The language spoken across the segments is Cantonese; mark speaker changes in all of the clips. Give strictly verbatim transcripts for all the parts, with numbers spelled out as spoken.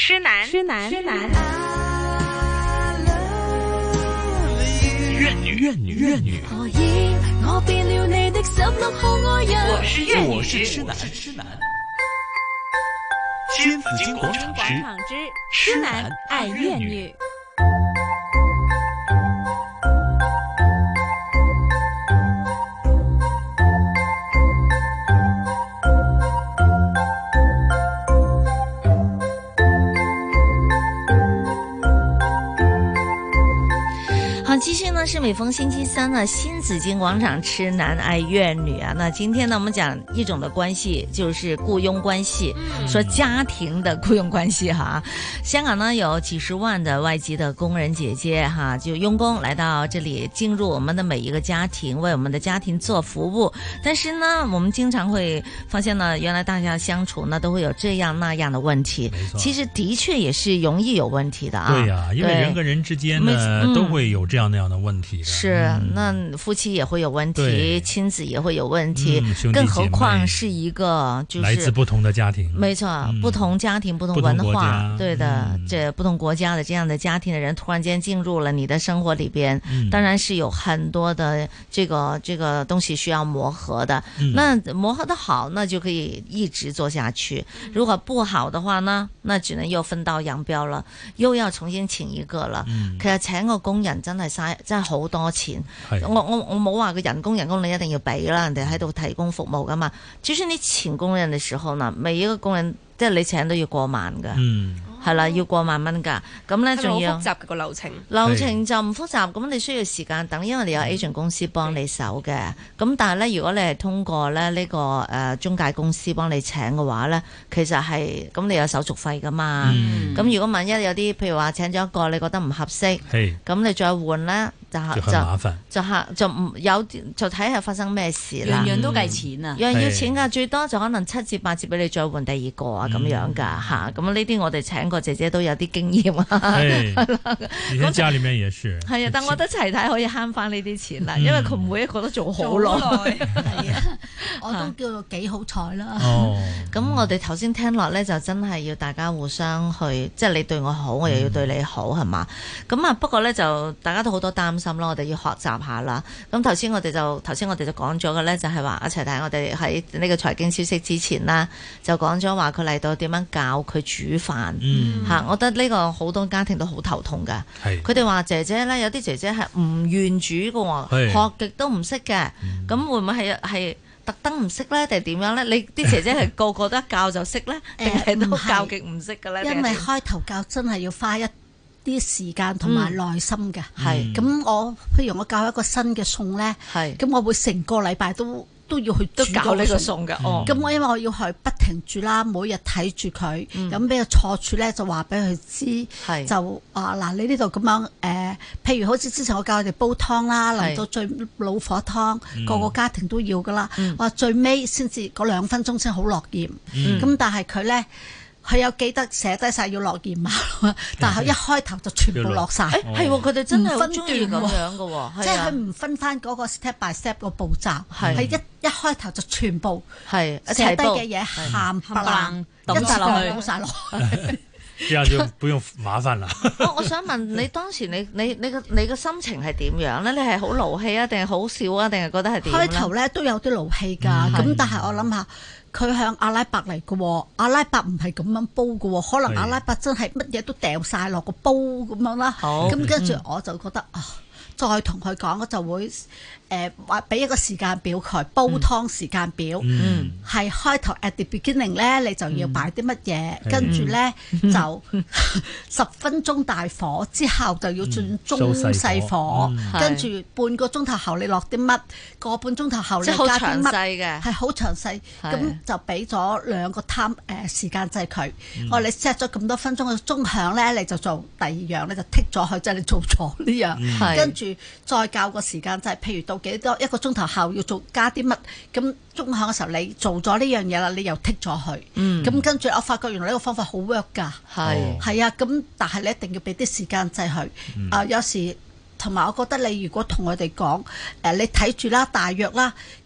Speaker 1: 痴男，痴男，痴男。
Speaker 2: 怨女，怨女，怨女。
Speaker 3: 何以我變了你的十六號愛人？
Speaker 1: 我是怨女，
Speaker 2: 我是痴男，痴男。新紫荊廣場之
Speaker 1: 痴男愛怨女。
Speaker 4: 继续呢是每逢星期三呢新紫荊廣場痴男愛怨女啊，那今天呢我們講一種的關係，就是僱傭關係，嗯、說家庭的僱傭關係哈。香港呢有幾十萬的外籍的工人姐姐哈，就傭工來到這裡進入我們的每一個家庭，為我們的家庭做服務。但是呢我們經常會發現呢，原來大家相處呢都會有這樣那樣的問題，其實的確也是容易有問題的啊。
Speaker 5: 對呀、啊，因為人跟人之間呢、嗯、都會有這樣那樣的問題的。
Speaker 4: 是，那夫妻也會有問題，親子也會有問題、嗯、更何況是一個就是
Speaker 5: 來自不同的家庭，
Speaker 4: 沒錯、嗯、不同家庭不同文化，對的、嗯、這不同國家的這樣的家庭的人突然間進入了你的生活裡邊、嗯、當然是有很多的這個這個東西需要磨合的、嗯、那磨合得好那就可以一直做下去，如果不好的話呢，那只能又分道揚鑣了，又要重新請一個了、嗯、其實請個工人真係嘥真係好多錢，我我我冇話個人工人工你一定要俾啦，人哋喺度提供服務噶嘛。就是你請工人嘅時候呢，每一個工人即係你請都要過萬噶，嗯，係啦，要過萬蚊噶。咁咧仲要
Speaker 1: 好複雜嘅個流程，
Speaker 4: 流程就唔複雜，咁你需要時間等，因為你有 agent 公司幫你手嘅。咁但係咧，如果你係通過咧呢個誒中介公司幫你請嘅話咧，其實係咁你有手續費噶嘛。咁、嗯、如果萬一有啲譬如話請咗一個你覺得唔合適，咁你再換咧。就就
Speaker 5: 麻煩，
Speaker 4: 就嚇就唔有就睇下發生咩事啦。
Speaker 1: 樣樣都計錢啊，
Speaker 4: 樣樣要錢㗎，最多就可能七至八折俾你再換第二個啊咁、嗯、樣㗎嚇。咁呢啲我哋請個姐姐都有啲經驗啊。
Speaker 5: 以前家裡面也是。係
Speaker 4: 啊，但我覺得齊太可以慳翻呢啲錢啦，因為佢每一個都做好耐。
Speaker 6: 係啊，我都叫做幾好彩啦。
Speaker 5: 哦，
Speaker 4: 咁我哋頭先聽落咧，就真係要大家互相去，即係你對我好，我又要對你好，係嘛？咁啊，不過咧就大家都好多擔心。我哋要學習下啦。咁頭先我哋就頭先我哋就講咗嘅咧，就係話一齊睇我哋喺呢個財經消息之前啦，就講咗話佢嚟到點樣教佢煮飯嚇、嗯。我覺得呢個好多家庭都好頭痛㗎。佢哋話姐姐咧，有啲姐姐係唔願煮嘅喎，學極都唔識嘅。咁、嗯、會唔會係係特登唔識咧，定係點樣咧？你啲姐姐係個個都一教就識咧，定係都教極唔識嘅咧？
Speaker 6: 因為開頭教真係要花一啲時間同埋耐心嘅，係咁、嗯、我譬如我教一個新嘅餸咧，係咁我會成個禮拜都都要去煮
Speaker 4: 都教呢個餸嘅，哦，
Speaker 6: 咁我因為我要去不停煮啦，每日睇住佢，咁俾個錯處咧就話俾佢知，係就啊嗱你呢度咁樣誒、呃，譬如好似之前我教佢哋煲湯啦，嚟到最老火湯，個個家庭都要噶啦，話、嗯、最尾先至嗰兩分鐘先好落鹽，咁、嗯、但係佢咧。佢有記得寫低晒要落鹽嘛？但係佢一開頭就全部落晒。
Speaker 4: 係喎，佢哋真係好中意咁樣嘅喎，
Speaker 6: 即係佢唔分翻嗰個 step by step 個步驟，係一一開頭就全部係寫低嘅嘢冚唪唥抌晒落去，倒晒落去。
Speaker 5: 這樣就不用麻煩啦。
Speaker 4: 我我想問你當時你你你個你個心情係點樣咧？你係好勞氣啊，定係好笑啊，定係覺得係點？
Speaker 6: 開頭咧都有啲勞氣㗎，咁、嗯、但係我諗下。佢向阿拉伯嚟嘅，阿拉伯唔係咁樣煲嘅，可能阿拉伯真係乜嘢都掉晒落個煲咁樣啦。咁跟住我就覺得啊，再同佢講，我就會誒話俾一個時間表佢煲湯時間表，係、嗯、開頭 at the beginning 咧，你就要擺啲乜嘢，跟住咧就十分鐘大火之後就要轉中細火，跟住、嗯、半個鐘頭後你落啲乜，個半鐘頭後你加啲乜，係好詳細。咁就俾咗兩個 time 誒時間制佢。我話你 set 咗咁多分鐘嘅鐘響咧，你就做第二樣咧，就剔咗佢，即係你做咗呢樣，跟住再教個時間制，譬如到幾多一個鐘頭後要做加啲乜，咁鐘響嘅時候你做咗呢樣嘢啦，你又剔咗佢，咁、嗯、跟住我發覺原來呢個方法好 work 㗎，係係啊，咁但係你一定要俾啲時間制佢，啊、嗯呃、有時同埋我覺得你如果同我哋講誒，你睇住啦，大約啦。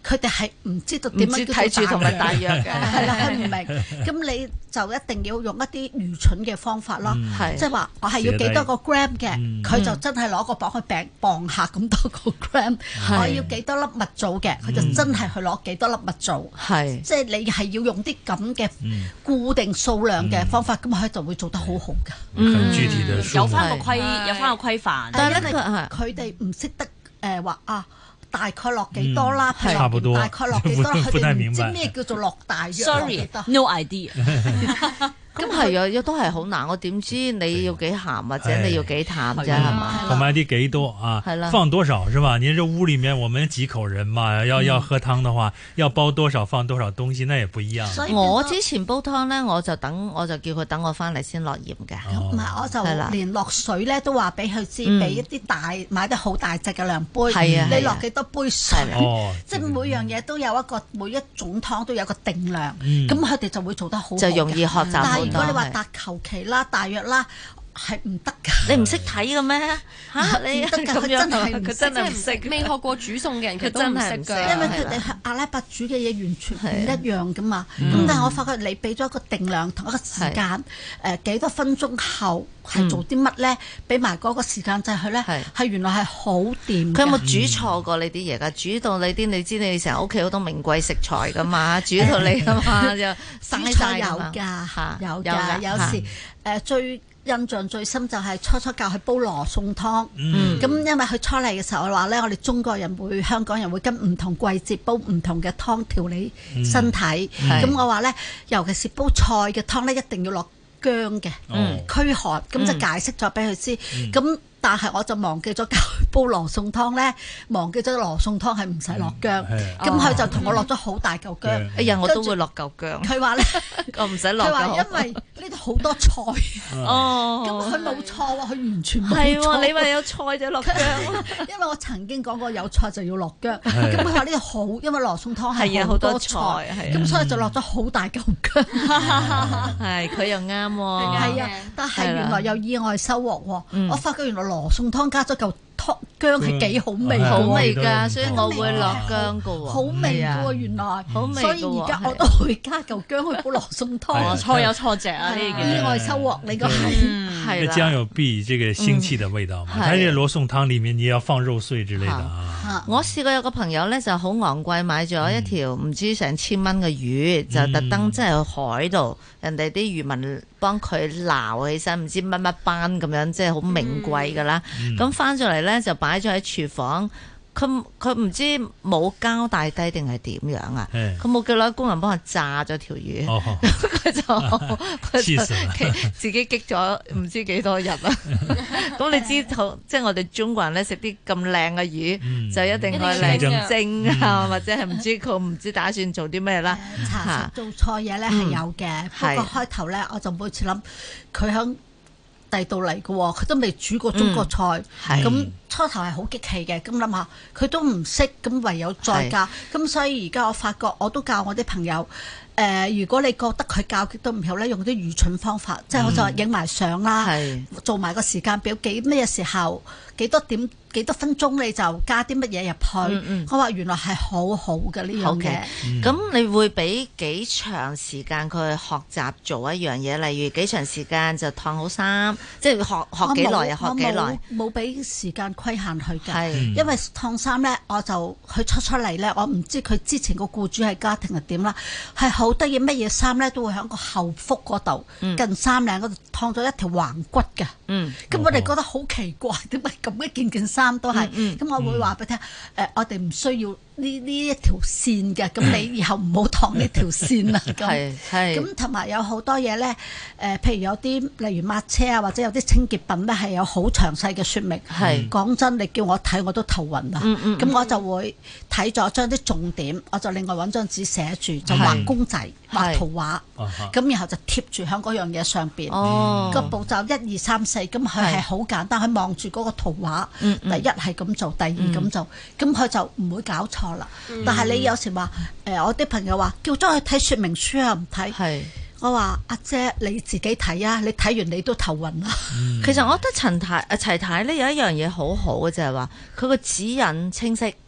Speaker 6: 佢哋係唔知道點樣
Speaker 4: 睇住同埋大約嘅，
Speaker 6: 係啦，佢唔明。咁你就一定要用一啲愚蠢嘅方法咯，即係話我係要幾多個 gram 嘅，佢就真係攞個磅去磅磅下咁多個 gram。我要幾多粒蜜棗嘅，佢就真係去攞幾多粒蜜棗。係，即係你係要用啲咁嘅固定數量嘅方法，咁佢就會做得好好㗎。
Speaker 5: 嗯，具體的
Speaker 1: 有翻個規，有翻個規範。
Speaker 6: 但係咧，佢哋唔識得誒話啊。大概落幾多啦？
Speaker 5: 嗯、差不多。
Speaker 6: 大概落幾多？佢哋唔知咩叫做落大約。
Speaker 1: Sorry，no idea。
Speaker 4: 咁係啊，亦都係好難。我點知你要幾鹹或者你要幾淡啫？係嘛？
Speaker 5: 同埋啲幾多啊？放多少是吧？您這屋裏面我們幾口人嘛？要要喝湯的話，要煲多少放多少東西，那也不一樣。
Speaker 4: 所以我之前煲湯咧，我就等我就叫佢等我翻嚟先落鹽嘅。
Speaker 6: 唔係，我就連落水咧都話俾佢知，俾一啲大買得好大隻嘅量杯。係啊，你落幾多杯水？即係每樣嘢都有一個，每一種湯都有個定量。咁佢哋就會做得好，
Speaker 4: 就容易學習。
Speaker 6: 如果你話搭求其啦、大約啦，係唔得㗎。
Speaker 4: 你唔識睇嘅咩？嚇你
Speaker 6: 唔得㗎，佢真係
Speaker 1: 佢真係唔識。未學過煮餸嘅人，佢真係唔識㗎。
Speaker 6: 因為佢哋阿拉伯煮嘅嘢完全唔一樣㗎嘛。咁但係我發覺你俾咗一個定量同一個時間，誒幾多分鐘後係做啲乜咧？俾埋嗰個時間掣佢咧，係原來係好掂。
Speaker 4: 佢有冇煮錯過你啲嘢㗎？煮到你啲，你知你成日屋企好多名貴食材㗎嘛？煮到你㗎嘛就
Speaker 6: 煮菜有㗎，有㗎，有時誒最。印象最深就係初初教佢煲羅宋湯，咁、嗯、因為佢初嚟嘅時候我話咧，我哋中國人會、香港人會跟唔同季節煲唔同嘅湯調理身體，咁、嗯、我話咧，尤其是煲菜嘅湯咧，一定要落薑嘅，嗯、驅寒，咁就解釋咗俾佢知，咁、嗯。但係我就忘記咗教佢煲羅宋湯咧，忘記咗羅宋湯係唔使落薑，咁佢就同我落咗好大嚿薑。
Speaker 4: 哎呀，我都會落嚿薑。佢話咧，我唔使落。佢話因為呢度好多菜，哦，咁佢冇錯喎，佢完全冇錯。係喎， 你話有菜就落薑。
Speaker 6: 因為我曾經講過有菜就要落薑，咁佢話呢度好，因為羅宋湯係好多菜，咁所以就落咗好大嚿薑。
Speaker 4: 係，佢又啱喎。
Speaker 6: 係啊，但係原來有意外收穫喎，我發覺原來羅宋湯加咗嚿湯薑係幾好味，
Speaker 4: 好味㗎，所以我會落薑㗎喎。
Speaker 6: 好味㗎喎，原來，
Speaker 4: 好味㗎喎。
Speaker 6: 所以而家我都會加嚿薑去煲羅宋湯。
Speaker 1: 錯有錯值啊！呢個
Speaker 6: 意外收穫，你個係
Speaker 5: 係啦。薑有避這個腥氣的味道嘛？喺呢羅宋湯裡面，你要放肉碎之類的啊。
Speaker 4: 我試過有個朋友咧，就好昂貴買咗一條唔知成千蚊嘅魚，就特登即係去海度，人哋啲漁民幫佢撈起身，唔知乜乜斑咁樣，即係好名貴㗎啦。咁翻咗嚟咧，就擺咗喺廚房。佢佢唔知冇交代低定係點樣啊？佢冇叫攞工人幫佢炸咗條魚，佢就佢就自己激咗唔知幾多日啊！咁你知道，即係我哋中國人咧食啲咁靚嘅魚，就一定係靚蒸啊，或者係唔知佢唔知打算做啲咩啦。
Speaker 6: 查實做錯嘢咧係有嘅，不過開頭咧我就每次諗佢響第度嚟嘅喎，佢都未煮過中國菜，咁、嗯、初頭係好激氣嘅，咁諗下佢都唔識，咁唯有再教，咁所以而家我發覺我都教我啲朋友，誒、呃，如果你覺得佢教極都唔好咧，用啲愚蠢方法，嗯、即係我就話影埋相啦，做埋個時間表，幾咩時候幾多點。幾多分鐘你就加啲乜嘢入去？嗯嗯、我話原來係好好嘅呢樣嘢。
Speaker 4: 咁、嗯、你會俾幾長時間佢學習做一樣嘢？例如幾長時間就燙好衫，即係學學幾耐啊？學幾耐？
Speaker 6: 冇俾時間規限佢嘅，是因為燙衫咧，我就佢出出嚟咧，我唔知佢之前個僱主係家庭係點啦，係好得意乜嘢衫咧都會喺個後腹嗰度、嗯、近衫領嗰度燙咗一條橫骨嘅。嗯，咁我哋覺得好奇怪，點解咁一件件衫都係？咁、嗯嗯、我會話俾你聽，誒、呃，我哋唔需要呢呢一條線嘅，咁你以後唔好燙呢條線啦。咁咁同埋有好多嘢咧，誒、呃，譬如有啲例如抹車啊，或者有啲清潔品咧，係有好詳細嘅説明。係講真，你叫我睇我都頭暈啦。咁、嗯嗯、我就會睇咗將啲重點，我就另外揾張紙寫住，就畫公仔、畫圖畫，咁然後就貼住喺嗰樣嘢上邊。哦，個步驟一二三四，咁佢係好簡單，佢望住嗰個圖畫，嗯嗯、第一係咁做，第二咁做，咁佢、嗯、就唔會搞錯啦。嗯、但係你有時話，誒、呃，我啲朋友話叫咗佢睇說明書啊，唔睇。係我話阿姐你自己睇啊，你睇完你都頭暈啦。
Speaker 4: 嗯、其實我覺得陳太阿齊太咧有一樣嘢好好嘅，就係話佢個指引清晰。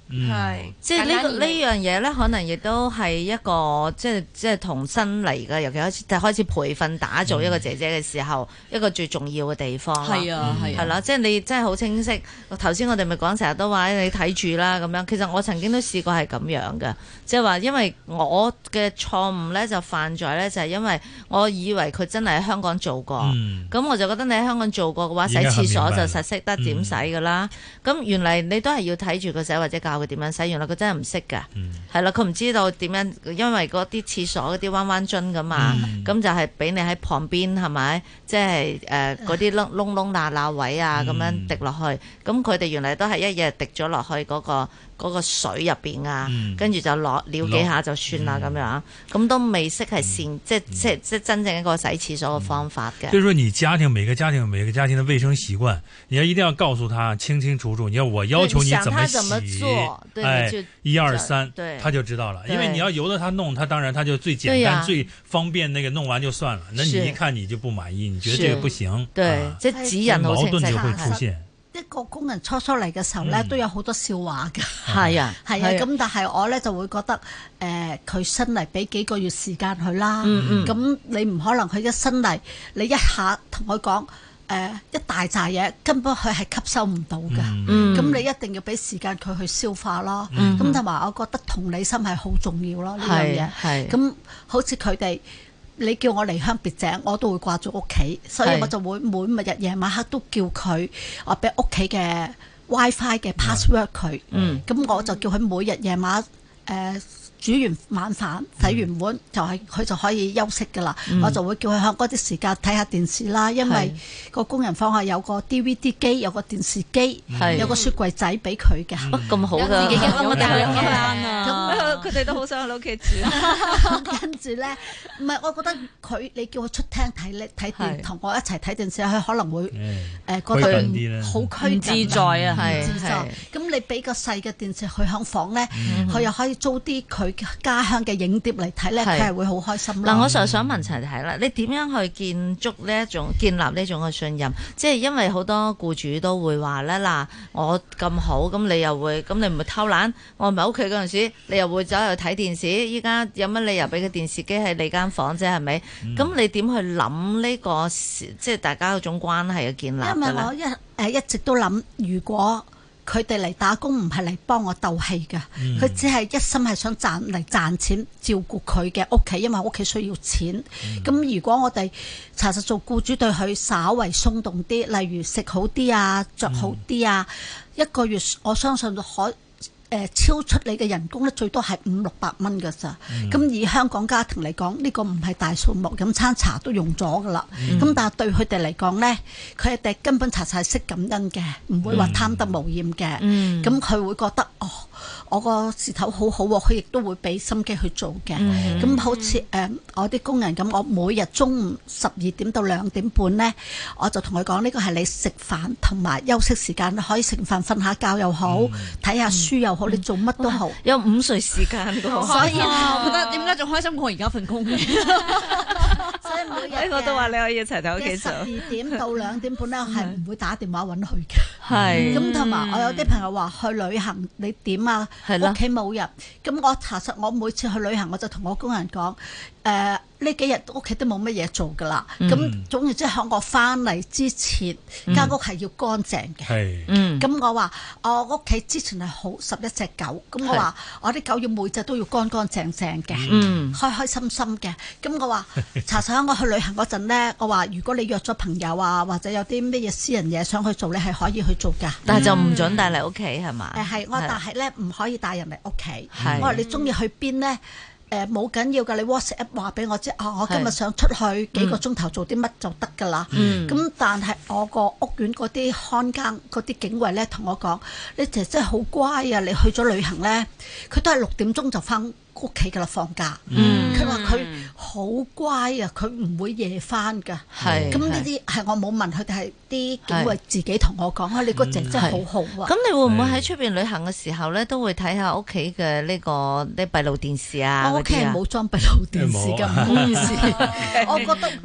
Speaker 4: 係，即係呢個呢樣嘢咧，可能亦都係一個即係即係同新嚟嘅，尤其開始開始培訓打造一個姐姐嘅時候，嗯、一個最重要嘅地方。
Speaker 1: 係啊，係
Speaker 4: 係啦，即係你真係好清晰。頭先我哋咪講成日都話你睇住啦咁樣。其實我曾經都試過係咁樣嘅，即係話因為我嘅錯誤咧就犯在咧就係因為我以為佢真係喺香港做過，咁、嗯、我就覺得你喺香港做過嘅話，洗廁所就實識得點洗㗎啦。咁、嗯、原嚟你都係要睇住佢洗或者教佢點樣洗，原來佢真係唔識㗎，係啦、嗯，佢唔知道點樣，因為嗰啲廁所嗰啲彎彎樽㗎嘛，咁、嗯、就係俾你喺旁邊係咪？即係誒嗰啲窿窿窿罅罅位啊，咁、嗯、樣滴落去，咁佢哋原來都係一日滴咗落去嗰、嗰個。嗰個水入邊啊，跟住就攞撩幾下就算啦咁樣，咁都未識係善，即係即係即係真正一個洗廁所嘅方法嘅。
Speaker 5: 所以說，你家庭每個家庭每個家庭的衛生習慣，你要一定要告訴他清清楚楚。你要我要求你怎麼洗，哎，一二三，他就知道了。因為你要由得他弄，他當然他就最簡單最方便，那個弄完就算了。那你一看你就不滿意，你覺得這個不行，
Speaker 4: 對，即係指引好清晰，
Speaker 5: 矛盾就會出現。
Speaker 6: 一個工人初初嚟嘅時候咧，嗯、都有好多笑話㗎。
Speaker 4: 係啊，
Speaker 6: 係啊。咁但係我咧就會覺得，誒、呃，佢新嚟俾幾個月時間佢啦。嗯嗯。咁你唔可能佢一新嚟，你一下同佢講，誒、呃，一大扎嘢，根本佢係吸收唔到㗎。嗯。咁你一定要俾時間佢去消化咯。嗯。咁同埋，我覺得同理心係好重要咯。呢樣嘢。係。咁好似佢哋。你叫我離鄉別井，我都會掛住屋企，所以我就會每日夜晚黑都叫佢，我俾屋企嘅 WiFi 嘅 password 佢，嗯，咁我就叫佢每日夜晚誒。呃煮完晚飯洗完碗就係佢就可以休息㗎啦，嗯、我就會叫佢喺嗰啲時間睇下電視啦，因為個工人房係有個 D V D 機，有個電視機，有個雪櫃仔俾佢嘅。
Speaker 4: 咁好㗎，
Speaker 1: 自己嘅我哋兩間
Speaker 4: 啊，咁佢哋都好想喺屋企住。
Speaker 6: 跟住咧，唔係我覺得佢你叫佢出廳睇咧睇電，同我一齊睇電視，佢可能會誒覺得好拘
Speaker 4: 唔自在啊，係
Speaker 6: 係。咁你俾個細嘅電視佢響房咧，佢又可以租啲佢家鄉嘅影碟嚟睇咧，佢係會好開心。
Speaker 4: 嗱，我就想問齊睇啦，你點樣去建築呢一種建立呢種嘅信任？即係因為好多僱主都會話咧，嗱，我咁好，咁你又會，咁你唔會偷懶？我唔喺屋企嗰陣時，你又會走去睇電視。依家有乜理由俾個電視機喺你間房啫？係咪？咁、嗯、你點去諗呢、這個即係大家嗰種關係嘅建立？
Speaker 6: 因為我一誒一直都諗，如果佢哋嚟打工唔係嚟幫我鬥氣嘅，佢、嗯、只係一心係想賺嚟賺錢照顧佢嘅屋企，因為屋企需要錢。咁、嗯、如果我哋查實做僱主對佢稍為鬆動啲，例如食好啲啊、着好啲啊，嗯、一個月我相信可。誒超出你嘅人工咧，最多係五六百蚊㗎咋。咁、嗯、以香港家庭嚟講，呢、呢個唔係大數目，飲餐茶都用咗㗎啦。咁、嗯、但係對佢哋嚟講咧，佢哋根本查實係識感恩嘅，唔會話貪得無厭嘅。咁佢、嗯、會覺得哦，我個事頭好好喎，佢亦都會俾心機去做嘅。咁、嗯、好似誒、呃、我啲工人咁，我每日中午十二點到兩點半咧，我就同佢講，呢個係你食飯同埋休息時間，可以食飯瞓下覺又好，睇下、嗯、書又好。你做乜都好，
Speaker 4: 有午睡時間㗎，
Speaker 1: 所以我覺得點解仲開心過我而家份工嘅？
Speaker 6: 所以每日
Speaker 4: 我都話你可以一齊喺屋企做。
Speaker 6: 十二點到兩點半咧，我係唔會打電話揾佢嘅。
Speaker 4: 係
Speaker 6: 咁同埋我有啲朋友話去旅行，你點啊？屋企冇人，咁我查實我每次去旅行，我就同我工人講，誒呢幾日屋企都冇乜嘢做㗎啦。咁、嗯、總之即係喺我翻嚟之前，間、嗯、屋係要乾淨嘅。係，咁、嗯、我話我屋企之前係好十一隻狗，咁我話我啲狗要每隻都要乾乾淨淨嘅，嗯、開開心心嘅。咁我話查實喺我去旅行嗰陣咧，我話如果你約咗朋友啊，或者有啲咩嘢私人嘢想去做，你係可以去做㗎。
Speaker 4: 但係就唔準帶嚟屋企係嘛？
Speaker 6: 誒係、嗯，我但係咧唔可以帶人嚟屋企。我話你中意去邊咧？誒冇緊要㗎，你 WhatsApp 話俾我知啊！我今日想出去幾個鐘頭做啲乜就得㗎啦。咁、嗯、但係我個屋苑嗰啲看更嗰啲警衛咧，同我講：你姐姐好乖啊！你去咗旅行咧，佢都係六點鐘就翻屋企㗎啦，放假。佢話佢好乖啊，佢唔會夜翻㗎。咁呢啲係我冇問佢哋，係啲警衛自己同我講啊。你個姐姐好好啊。
Speaker 4: 咁你會唔會喺出邊旅行嘅時候咧，都會睇下屋企嘅呢個啲閉路電視啊？
Speaker 6: 我屋企係冇裝閉路電視㗎，唔好意思。我覺得嗯。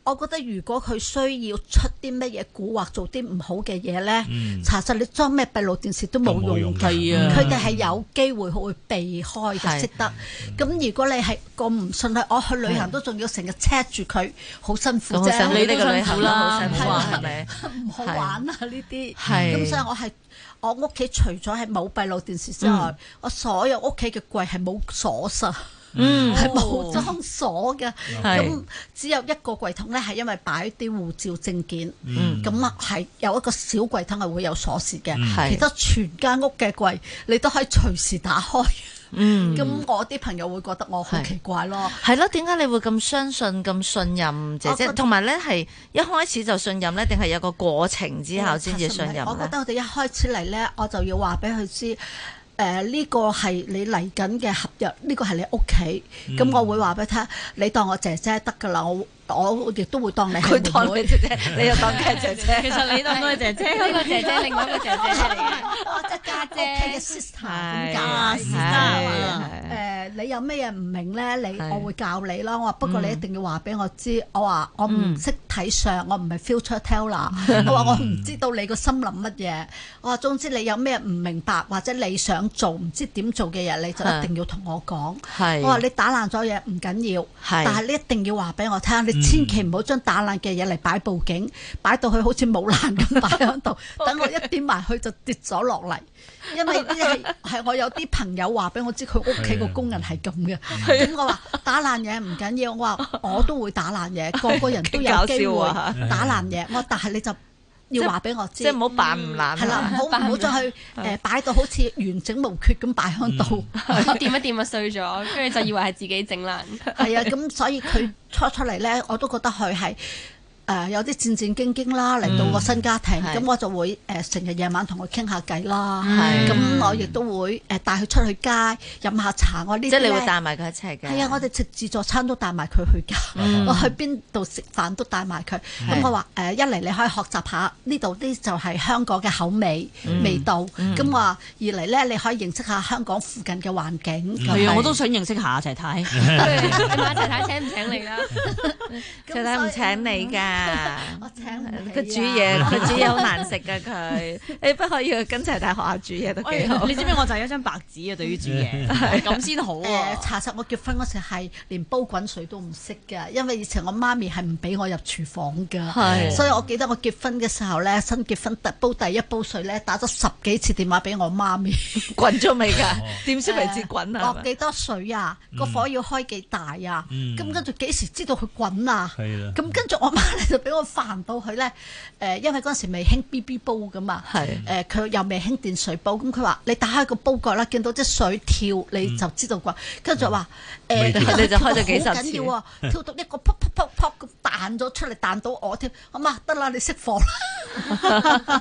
Speaker 6: 我覺得如果佢需要出啲乜嘢蠱惑，做啲唔好嘅嘢咧，嗯、查實你裝咩閉路電視都冇用嘅。佢哋係有機會會避開嘅，識得。咁、嗯、如果你係個唔信佢，我去旅行都仲要成日 check 住佢，好辛苦啫。
Speaker 4: 你呢個旅行啦，好辛苦啊，係咪？
Speaker 6: 唔好玩啊呢啲。
Speaker 4: 係。
Speaker 6: 咁所以我係我屋企除咗係冇閉路電視之外，嗯、我所有屋企嘅櫃係冇鎖實。嗯，係冇裝鎖嘅，咁只有一個櫃桶咧，係因為擺啲護照證件，咁啊係有一個小櫃桶係會有鎖匙嘅，嗯、其他全間屋嘅櫃你都可以隨時打開。嗯，咁我啲朋友會覺得我好奇怪咯。
Speaker 4: 係咯，點解你會咁相信、咁信任姐姐？同埋咧係一開始就信任咧，定係有個過程之後先至信任咧？
Speaker 6: 我覺得我哋一開始嚟咧，我就要話俾佢知。誒呢、呃這個係你嚟緊嘅合約，呢、這個係你屋企，咁、嗯、我會話俾佢聽，你當我姐姐得㗎啦，我我亦都會當你係妹妹，姐姐，你又當佢係姐姐。
Speaker 1: 其實你當佢係姐姐，呢個姐姐，另外一個姐姐嚟嘅，
Speaker 6: 我即係家姐嘅 sister 點解 sister 誒，你有咩嘢唔明咧？你我會教你咯。我話不過你一定要話俾我知。我話我唔識睇相，我唔係 future teller。我話我唔知道你個心諗乜嘢。我話總之你有咩唔明白或者你想做唔知點做嘅嘢，你就一定要同我講。我話你打爛咗嘢唔緊要，但係你一定要話俾我聽。你千祈唔好將打爛嘅嘢嚟擺佈景，擺到佢好似冇爛咁擺喺度。等我一點埋去就跌咗落嚟。因為係係我有啲朋友話俾我知，佢屋企個工人係咁嘅。咁我話打爛嘢唔緊要，我話我都會打爛嘢，個個人都有機會打爛嘢。我話但係你就要話俾我知，
Speaker 4: 即係唔好扮唔爛。
Speaker 6: 係啦，唔好唔好再去誒擺到好似完整無缺咁擺喺度，
Speaker 7: 掂一掂就碎咗，跟住就以為係自己整爛。
Speaker 6: 係啊，咁所以佢初出嚟咧，我都覺得佢係。誒、呃、有啲戰戰兢兢啦，嚟到個新家庭，咁、嗯、我就會誒成日夜晚同佢傾下偈啦。咁、嗯、我亦都會誒帶佢出去街飲下茶。我呢啲即
Speaker 4: 係你會帶埋佢一齊嘅。
Speaker 6: 係啊，我哋食自助餐都帶埋佢去㗎。嗯、我去邊度食飯都帶埋佢。咁、嗯、我話誒、呃、一嚟你可以學習下呢度啲就係香港嘅口味、嗯、味道。咁話、嗯、二嚟咧你可以認識下香港附近嘅環境。
Speaker 1: 係啊、嗯，我都想認識下齊太。你
Speaker 7: 問齊太請唔請你啦？
Speaker 4: 齊太唔請你㗎。
Speaker 6: 我請
Speaker 4: 佢煮嘢，佢煮嘢好難食噶佢，你不可以去跟齊大學校煮嘢都幾好。
Speaker 1: 你知唔知我就係一張白紙啊？對於煮嘢咁先好啊！
Speaker 6: 查實我結婚嗰時係連煲滾水都唔識㗎，因為以前我媽咪係唔俾我入廚房㗎，係所以我記得我結婚嘅時候咧，新結婚煲第一煲水咧，打咗十幾次電話俾我媽咪，
Speaker 4: 滾咗未㗎？點先為之滾啊？
Speaker 6: 落幾多水啊？個火要開幾大啊？咁跟住幾時知道佢滾啊？咁跟住我媽就俾我煩到佢咧，誒，因為嗰陣時未興 B B 煲噶嘛，誒，佢又未興電水煲，咁佢話你打開個煲蓋啦，見到啲水跳，你就知道啩。跟住就話誒，
Speaker 4: 你就開咗幾十次，
Speaker 6: 好緊要啊，跳到一個噗噗噗噗咁彈咗出嚟，彈到我添，我媽得啦，你熄火啦。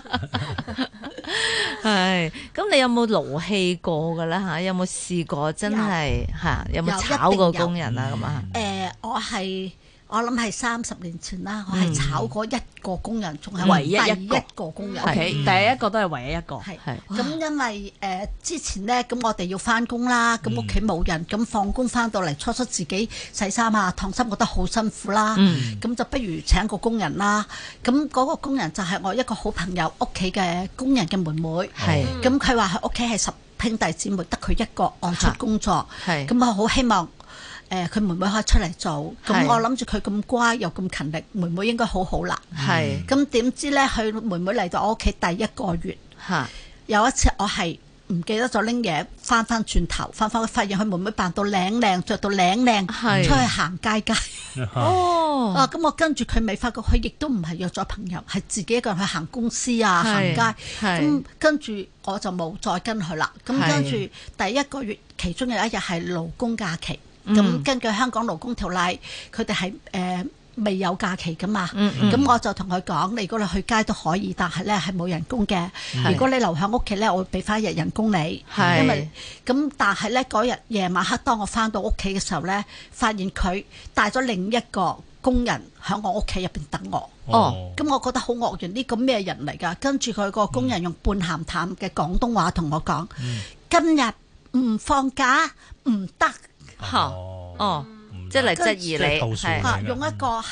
Speaker 4: 係，咁你有冇勞氣過噶咧吓？有冇試過真係吓？有冇炒過工人啊？咁啊？
Speaker 6: 誒，我係。我諗係三十年前啦，我係炒過一個工人，仲係唯一一個工人。
Speaker 1: 第一個都係唯一一個。
Speaker 6: 係咁，因為誒之前咧，咁我哋要翻工啦，咁屋企冇人，咁放工翻到嚟，初初自己洗衫啊、燙衫，覺得好辛苦啦。咁就不如請個工人啦。咁嗰個工人就係我一個好朋友屋企嘅工人嘅妹妹。係。咁佢話佢屋企係十兄弟姊妹，得佢一個外出工作。係。咁我好希望。誒佢妹妹可以出嚟做，咁我諗住佢咁乖又咁勤力，妹妹應該好好啦。係，咁點知咧？佢妹妹嚟到我屋企第一個月，有一次我係唔記得咗拎嘢，翻翻轉頭，翻翻發現佢妹妹扮到靚靚，着到靚靚，出去行街街。哦，啊咁我跟住佢未發覺，佢亦都唔係約咗朋友，係自己一個人去行公司啊，行街。咁跟住我就冇再跟佢啦。咁跟住第一個月，其中有一日係勞工假期。咁、嗯、根據香港勞工條例，佢哋係誒未有假期噶嘛。咁、嗯嗯、我就同佢講：你如果你去街都可以，但係咧係冇人工嘅。是如果你留喺屋企咧，我會俾翻一日人工你。是因為咁，但係咧嗰日夜晚黑，當我翻到屋企嘅時候咧，發現佢帶咗另一個工人喺我屋企入邊等我。哦，咁我覺得好愕然，呢個咩人嚟㗎？跟住佢個工人用半鹹淡嘅廣東話同我講：嗯、今日唔放假唔得。嚇，哦，即係嚟質疑你，係用一個係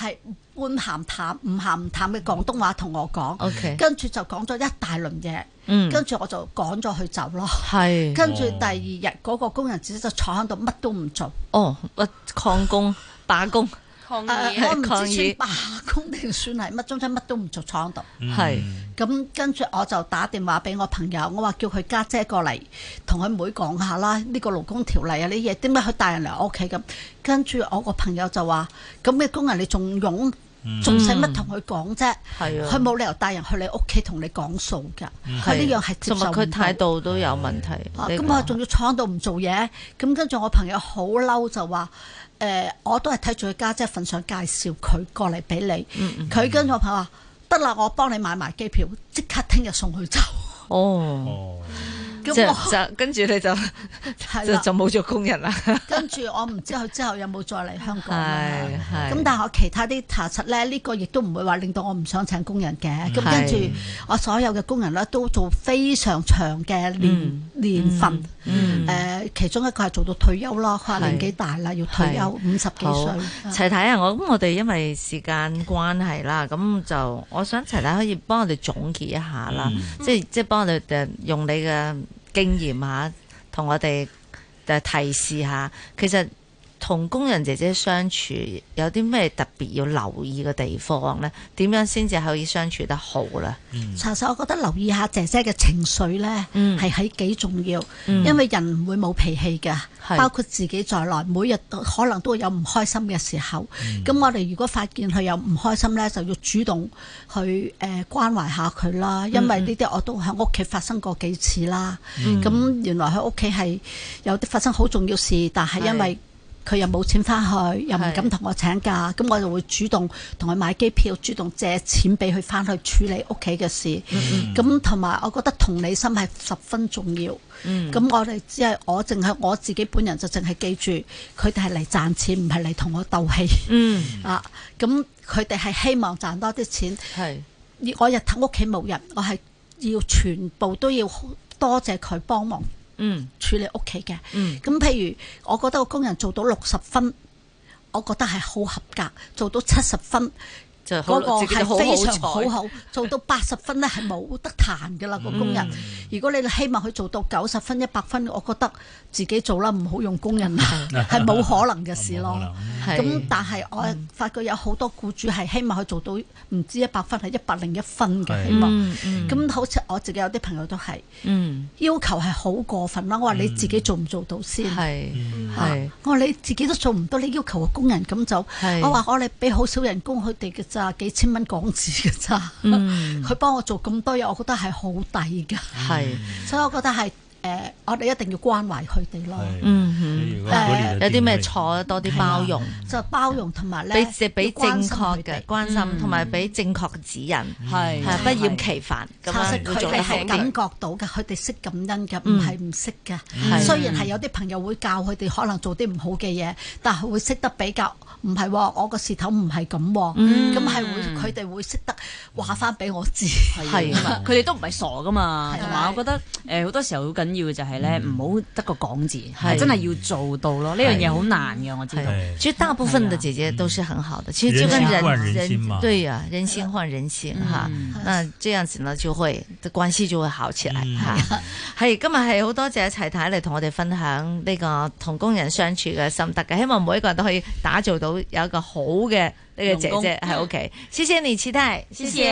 Speaker 6: 半鹹淡唔鹹唔淡嘅廣東話同我講，okay. 跟住就講咗一大輪嘢，嗯、跟住我就趕咗佢走咯。係，跟住第二日嗰、哦、個工人姐姐就坐喺度乜都唔做。哦，
Speaker 4: 曠工罷工。
Speaker 6: 抗議呃、我唔知算罷工定算係乜，總之乜都唔做，坐喺度。係、嗯，咁跟住我就打電話俾我朋友，我話叫佢家姐過嚟同佢妹講下啦，呢、呢個勞工條例啊，呢嘢點解佢帶人嚟我屋企咁？跟住我個朋友就話：咁嘅工人你仲勇，仲使乜同佢講啫？係啊，佢冇理由帶人去你屋企同你講數㗎。佢呢樣係接受唔到。
Speaker 4: 佢態度都有問題。
Speaker 6: 咁我仲要坐喺度唔做嘢，咁跟住我朋友好嬲就話。誒、呃，我都係睇住佢家姐份上介紹佢過嚟俾你，佢跟住我朋友話得啦，我幫你買埋機票，即刻聽日送佢走。哦，咁
Speaker 4: 就跟住你就就就冇做工人啦。
Speaker 6: 跟住我唔知佢之後有冇再嚟香港啦。咁但係我其他啲查實咧，呢、這個亦都唔會話令到我唔想請工人嘅。咁跟住我所有嘅工人咧都做非常長嘅年、嗯、年份。誒、嗯呃，其中一個係做到退休啦，佢話年紀大啦，要退休，五十幾歲。
Speaker 4: 齊太啊，我咁我哋因為時間關係啦，咁就我想齊太可以幫我哋總結一下啦，嗯、即係即係幫我哋誒用你嘅經驗吓，同我哋誒提示下，其實同工人姐姐相處有啲咩特別要留意嘅地方呢？點樣先至可以相處得好呢？
Speaker 6: 查實我覺得留意下姐姐嘅情緒呢，係喺幾重要，嗯、因為人唔會冇脾氣嘅，包括自己在內，每日可能都會有唔開心嘅時候。咁、嗯、我哋如果發現佢有唔開心呢，就要主動去誒、呃、關懷下佢啦。因為呢啲我都喺屋企發生過幾次啦。咁、嗯、原來喺屋企係有啲發生好重要事，但係因為佢又冇錢翻去，又唔敢同我請假，咁我就會主動同佢買機票，主動借錢俾佢翻去處理屋企嘅事。咁同埋我覺得同理心係十分重要。咁、嗯、我哋只係我淨係我自己本人就淨係記住，佢哋係嚟賺錢，唔係嚟同我鬥氣。嗯啊，咁佢哋係希望賺多啲錢。係我日頭屋企冇人，我係要全部都要多謝佢幫忙。嗯，處理屋企嘅，咁、嗯、譬如我覺得個工人做到六十分，我覺得係好合格，做到七十分。嗰、那個係非常好好，做到八十分咧係冇得彈㗎啦個工人。嗯、如果你希望佢做到九十分、一百分，我覺得自己做啦，唔好用工人啦，係冇可能嘅事咯。咁但係我發覺有好多僱主係希望佢做到唔止一百分，係一百零一分嘅希望。咁、嗯嗯、好似我自己有啲朋友都係、嗯，要求係好過分啦。我話你自己做唔做到先？係、嗯啊，我話你自己都做唔到，你要求個工人咁做。我話我哋俾好少人工佢哋嘅咋。幾千蚊港紙嘅咋，佢、嗯、幫我做咁多嘢，我覺得係好抵噶，係，所以我覺得係誒、呃，我哋一定要關懷佢哋咯。嗯，誒、呃，
Speaker 4: 有啲咩錯多啲包容，
Speaker 6: 就包容同埋咧，
Speaker 4: 俾俾正確嘅關心，同埋俾正確嘅指引，係、嗯、不厭其煩咁樣佢哋
Speaker 6: 係感覺到嘅，佢哋識感恩嘅，唔係唔識嘅。雖然係有啲朋友會教佢哋可能做啲唔好嘅嘢，但係會識得比較。唔係喎，我個事頭唔係咁喎，咁係會佢哋會識得話翻俾我知，
Speaker 1: 係啊，佢哋都唔係傻噶嘛，同埋我覺得誒好多時候好緊要嘅就係咧，唔好得個講字，係真係要做到咯，呢樣嘢好難嘅，我知道。
Speaker 4: 其實大部分的姐姐都是很好的，其實就跟人人對呀，人心換人心哈，那這樣子呢就會關係就會好起來嚇。係今日係好多謝齊太嚟同我哋分享呢個同工人相處嘅心得嘅，希望每一個人都可以打造到有一個好嘅呢個姐姐喺屋企。謝謝你，齊太，謝謝。